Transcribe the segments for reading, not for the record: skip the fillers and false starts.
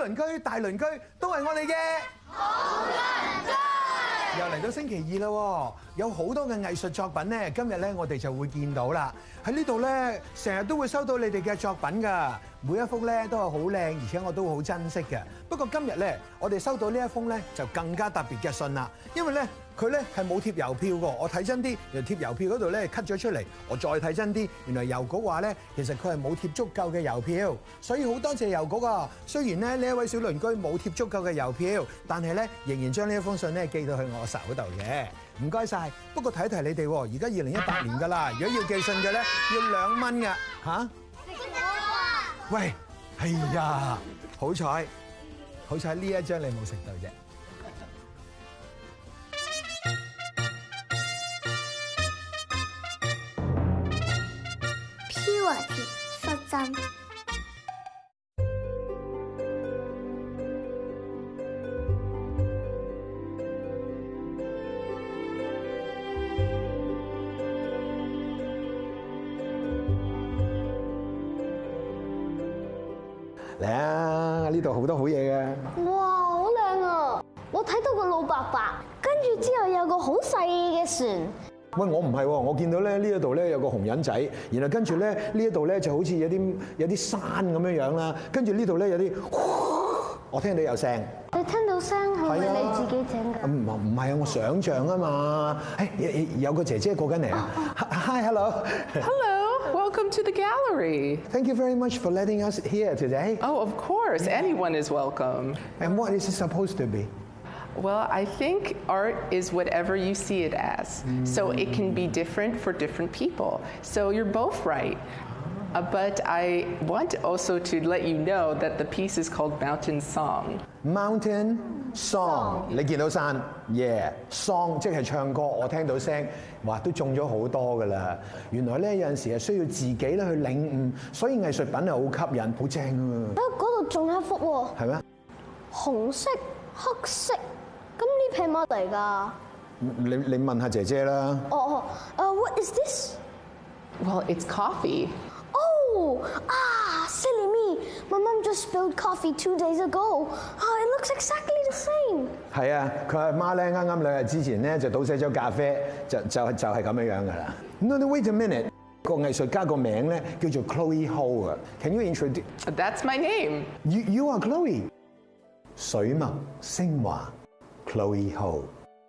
鄰居、大鄰居都係我哋嘅好鄰居。又嚟到星期二啦，有好多嘅藝術作品咧，今日咧我哋就會見到啦。喺呢度咧，成日都會收到你哋嘅作品㗎，每一幅咧都係好靚，而且我都好珍惜嘅。不過今日咧，我哋收到呢一封咧就更加特別嘅信啦，因為咧佢咧係冇貼郵票㗎。我睇真啲，原來貼郵票嗰度咧 cut 咗出嚟，我再睇真啲，原來郵局話咧其實佢係冇貼足夠嘅郵票，所以好多謝郵局啊。雖然咧呢一位小鄰居冇貼足夠嘅郵票，但係咧仍然將呢一封信咧寄到去我手度嘅。唔該晒。不過提一提你哋，而家2018年㗎啦，如果要寄信嘅咧要2蚊㗎嚇。喂，係呀，好彩呢一張你冇食到啫。 Purity 率真。 嚟啊！呢度好多好嘢嘅。 哇，好靚啊！我睇到個老伯伯，跟住之後有個好細嘅船。 喂，我唔係喎，我見到咧呢一度咧有個紅人仔，然後跟住咧呢一度咧就好似有啲山咁樣樣啦，跟住呢度咧有啲，我聽到有聲。 你聽到聲係咪你自己整㗎？ 唔係啊，我想像啊嘛。誒，有個姐姐過緊嚟啊。Hi, hello. Hello, welcome to the gallery. Thank you very much for letting us here today. Oh, of course, anyone is welcome. And what is it supposed to be? Well, I think art is whatever you see it as. So it can be different for different people. So you're both right. But I want also to let you know that the piece is called Mountain Song. Mountain Song， 你見到山 ，yeah song 即係唱歌，我聽到聲，哇都中咗好多㗎啦。原來咧有陣時係需要自己咧去領悟，所以藝術品係好吸引，好正啊！ 嗰度仲有一幅喎。 係咩？ 紅色、黑色，咁呢片乜嚟㗎？ 你問下姐姐啦。 What is this? Well, it's coffee. Oh, silly me. My mom just spilled coffee 2 days ago. It looks exactly the same. 係啊，佢阿媽咧啱啱2日之前咧就倒瀉咗咖啡，就係咁樣樣㗎啦。No, wait a minute. 個藝術家個名咧叫做 Chloe Ho 啊。Can you introduce? That's my name. You are Chloe. 水墨昇華 Chloe Ho.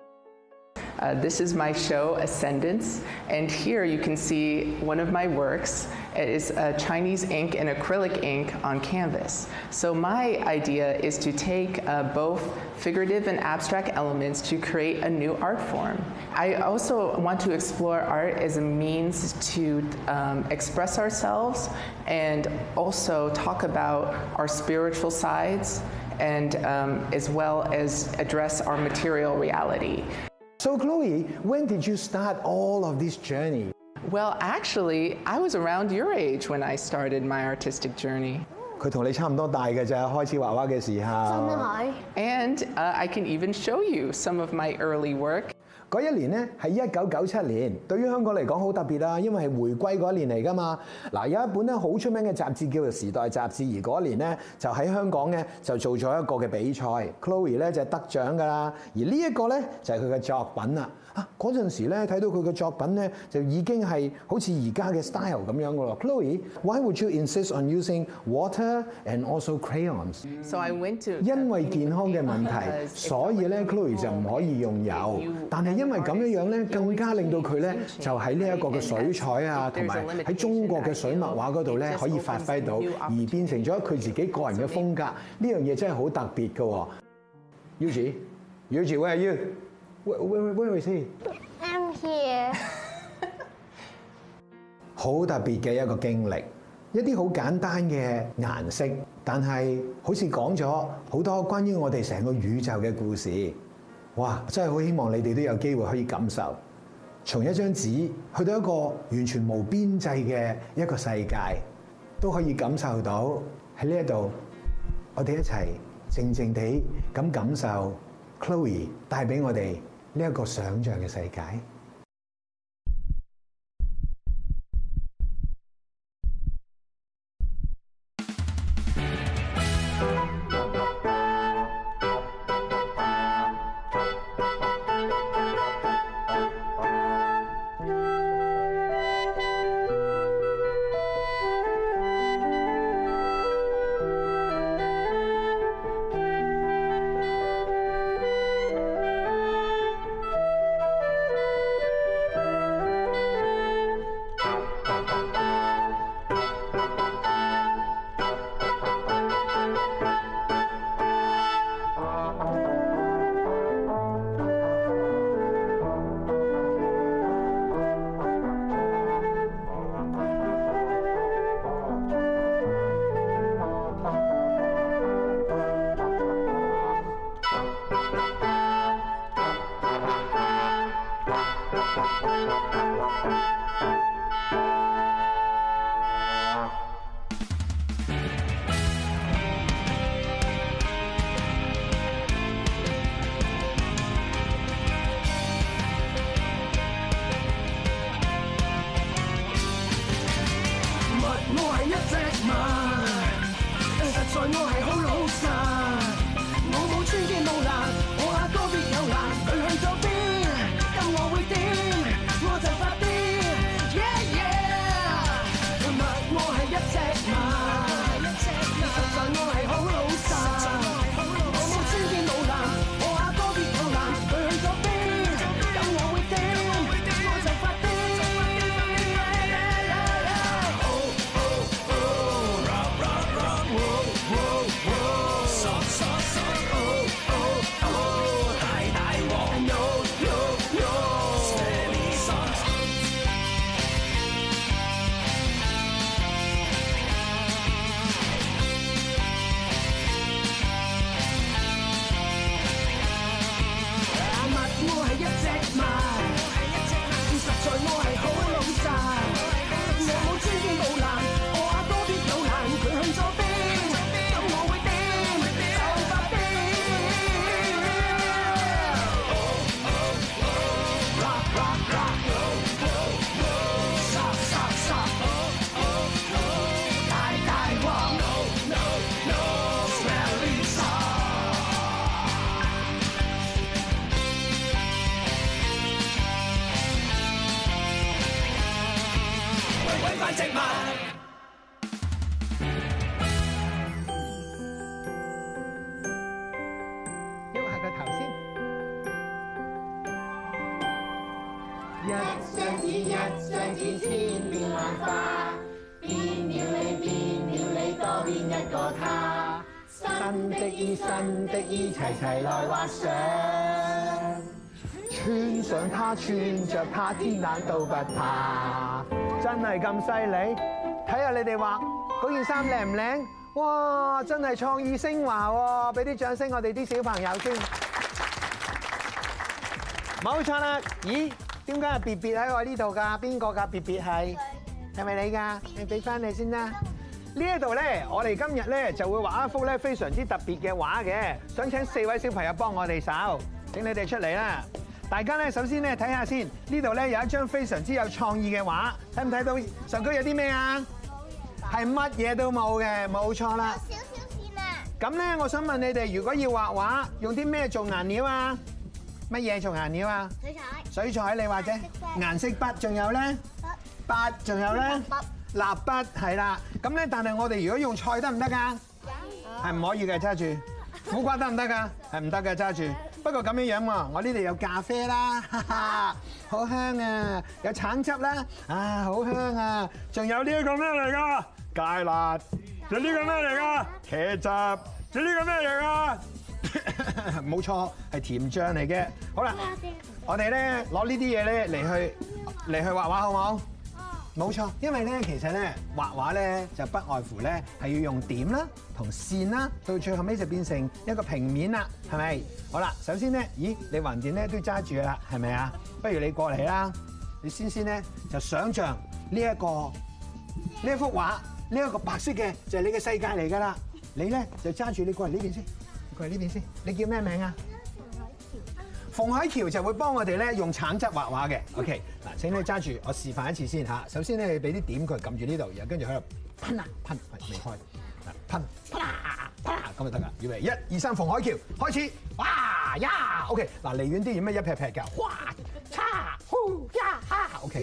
This is my show, Ascendance, and here you can see one of my works. It is Chinese ink and acrylic ink on canvas. So my idea is to take both figurative and abstract elements to create a new art form. I also want to explore art as a means to express ourselves and also talk about our spiritual sides and as well as address our material reality. So Chloe, when did you start all of this journey? Well, actually, I was around your age when I started my artistic journey. 佢同你差唔多大嘅咋，開始畫畫嘅時候。 真係。 And I can even show you some of my early work. 嗰一年咧係1997年，對於香港嚟講好特別啦，因為係回歸嗰一年嚟㗎嘛。嗱，有一本咧好出名嘅雜誌叫做《時代雜誌》，而嗰一年咧就喺香港咧就做咗一個嘅比賽 ，Chloe 咧就係得獎㗎啦。而呢一個咧就係佢嘅作品啦。嗰陣時咧睇到佢嘅作品咧就已經係好似而家嘅 style 咁樣㗎咯。Chloe, why would you insist on using water and also crayons? So I went to 因為健康嘅問題，所以咧 Chloe 就唔可以用油，但係因為咁樣樣咧，更加令到佢咧就喺呢一個嘅水彩啊，同埋喺中國嘅水墨畫嗰度咧可以發揮到，而變成咗佢自己個人嘅風格。呢樣嘢真係好特別㗎。Yuji, where are you? Where is he? I'm here. 好特別嘅一個經歷，一啲好簡單嘅顏色，但係好似講咗好多關於我哋成個宇宙嘅故事。哇！真係好希望你哋都有機會可以感受，從一張紙去到一個完全無邊際嘅一個世界，都可以感受到喺呢一度，我哋一齊靜靜地咁感受 Chloe 帶俾我哋呢一個想像嘅世界。 一張紙千變萬化，變了你多變一個他。新的衣，齊齊來畫上。 穿上它，穿着它，天冷都不怕。真係咁犀利？睇下你哋畫嗰件衫靚唔靚？哇！真係創意升華喎！俾啲掌聲我哋啲小朋友先。冇錯啦！咦？點解係別別喺我呢度㗎？邊個㗎？別別係咪你㗎？你俾翻你先啦。呢一度咧，我哋今日咧就會畫一幅咧非常之特別嘅畫嘅，想請4位小朋友幫我哋手，請你哋出嚟啦！大家咧首先咧睇下先，呢度咧有一張非常之有創意嘅畫，睇唔睇到上區有啲咩啊？係乜嘢都冇嘅，冇錯啦。 有少少線啊！ 咁咧，我想問你哋，如果要畫畫，用啲咩做顏料啊？乜嘢做顏料啊？ 水彩。 水彩你或者顏色筆，仲有咧筆，仲有咧蠟筆，係啦。咁咧，但係我哋如果用菜得唔得㗎？係唔可以嘅，揸住。苦瓜得唔得㗎？係唔得嘅，揸住。不過咁樣樣喎，我呢度有咖啡啦，哈哈，好香啊！有橙汁啦，啊，好香啊！仲有呢一個咩嚟㗎？芥辣。仲有呢個咩嚟㗎？茄汁。仲有呢個咩嚟㗎？冇錯，係甜醬嚟嘅。好啦，我哋咧攞呢啲嘢咧嚟去畫畫，好唔好？冇錯，因為咧其實咧畫畫咧就不外乎咧係要用點啦同線啦，到最後尾就變成一個平面啦，係咪？好啦，首先咧，咦，你橫掂咧都揸住啦，係咪啊？不如你過嚟啦，你先咧就想像呢一幅畫，呢一個白色嘅就係你嘅世界嚟㗎啦。你咧就揸住，你過嚟呢邊先，過嚟呢邊先。你叫咩名啊？馮海橋就會幫我哋咧用橙汁畫畫嘅。OK， 嗱，請你揸住，我示範一次先嚇。首先咧，你俾啲點佢撳住呢度，然後跟住喺度噴啊噴，未開，噴啪啦啪啦咁就得㗎。預備1、2、3，馮海橋開始。哇呀 ，OK， 嗱離遠啲要咩一劈劈㗎？哇叉呼呀哈 ，OK，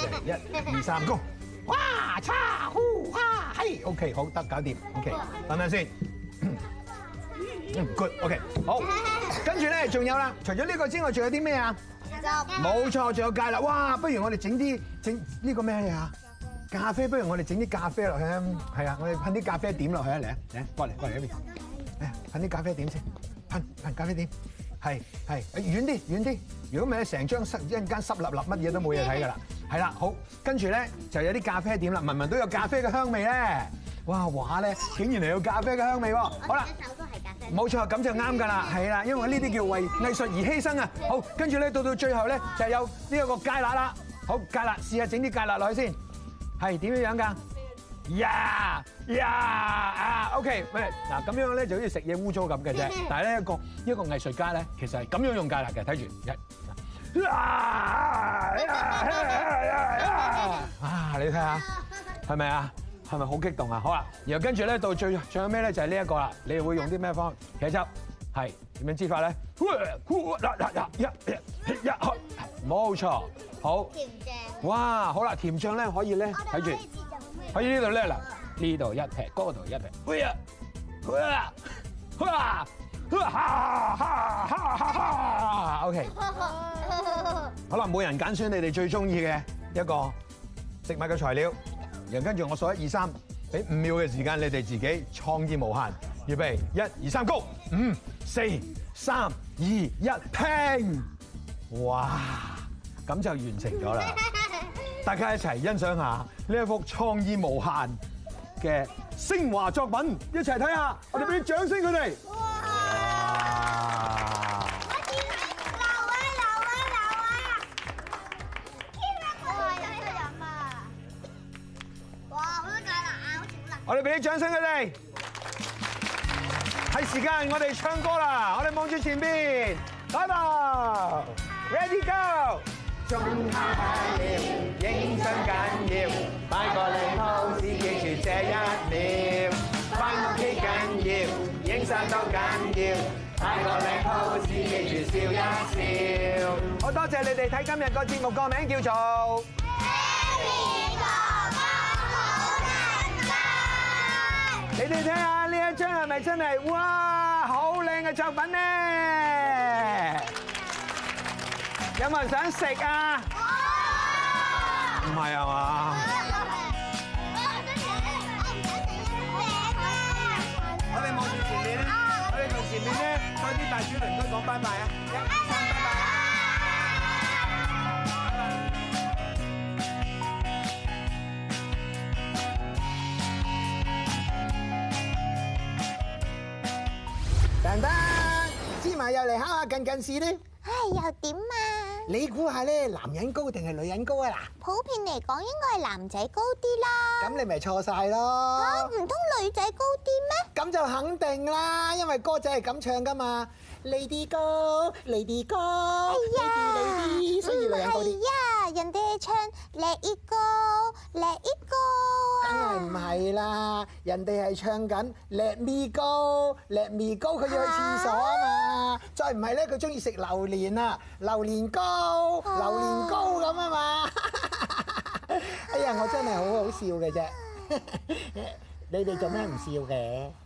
1、2、3，Go！ 哇叉呼哈嘿 ，OK， 好得搞掂 ，OK， 等陣先。good，OK， 好。跟住咧，仲有啦，除咗呢個之外，仲有啲咩啊？冇錯，仲有芥辣。哇，不如我哋整呢個咩嘢啊？咖啡，不如我哋整啲咖啡落去啊！係啊，我哋噴啲咖啡點落去啊！嚟啊，嚟過嚟呢邊。噴啲咖啡點先，噴咖啡點。係遠啲。如果唔係咧，成張一陣間濕立立，乜嘢都冇嘢睇㗎啦。係啦，好，跟住咧就有啲咖啡點啦，聞到有咖啡嘅香味咧。哇，畫咧竟然係有咖啡嘅香味喎！好啦， 手都係咖啡。 冇錯，咁就啱㗎啦，係啦，因為呢啲叫為藝術而犧牲啊！好，跟住咧到最後咧就有呢一個芥辣啦。好，芥辣，試下整啲芥辣落去先。係點樣㗎？OK， 喂，嗱咁樣咧就好似食嘢污糟咁嘅啫。但係咧一個藝術家咧，其實係咁樣用芥辣嘅，睇住你睇下，係咪啊？係咪好激動啊？好啦，然後跟住咧到最後咩咧就係呢一個啦。你會用啲咩方茄汁？係點樣煎法咧？冇錯，好。 甜醬。 哇，好啦，甜醬咧可以咧睇住，可以呢度咧嗱，呢度一撇，嗰度一撇。OK， 好啦，每人揀選你哋最中意嘅一個食物嘅材料。然後跟住我數1、2、3，俾5秒嘅時間，你哋自己創意無限。預備1、2、3，Go！ 5、4、3、2、1，拼！哇，咁就完成咗啦！大家一齊欣賞下呢一幅創意無限嘅昇華作品，一齊睇下，我哋俾啲掌聲佢哋。我哋俾啲掌聲佢哋，係時間我哋唱歌啦！我哋望住前邊，來吧 ，Ready Go！ 鐘敲響了，影相緊要，擺個靚 pose，記住這1秒，返屋企緊要，影相都緊要，擺個靚 pose，記住笑一笑。好多謝你哋睇今日個節目，個名叫做。你哋睇下呢一張係咪真係哇好靚嘅作品咧？有冇人想食啊？ 唔係啊嘛？我哋望住前面咧，我哋同前面咧嗰啲大小鄰居講拜拜啊！一、二、三，拜拜！丹丹，芝麻又嚟考下近事咧。 唉，又點啊？ 你估下咧，男人高定係女人高啊？嗱， 普遍嚟講應該係男仔高啲啦。 咁你咪錯晒咯。 嚇，唔通女仔高啲咩？ 咁就肯定啦，因為歌仔係咁唱噶嘛。Lady 高，Lady 高，Lady，所以女人高啲。 係啊，人哋係唱 Let It Go，Let It Go 梗係唔係啦，人哋係唱緊 Let Me Go，Let Me Go， 佢要去廁所啊嘛。再唔係咧，佢中意食榴蓮啊，榴蓮糕，榴蓮糕咁啊嘛。哎呀，我真係好好笑嘅啫。你哋做咩唔笑嘅？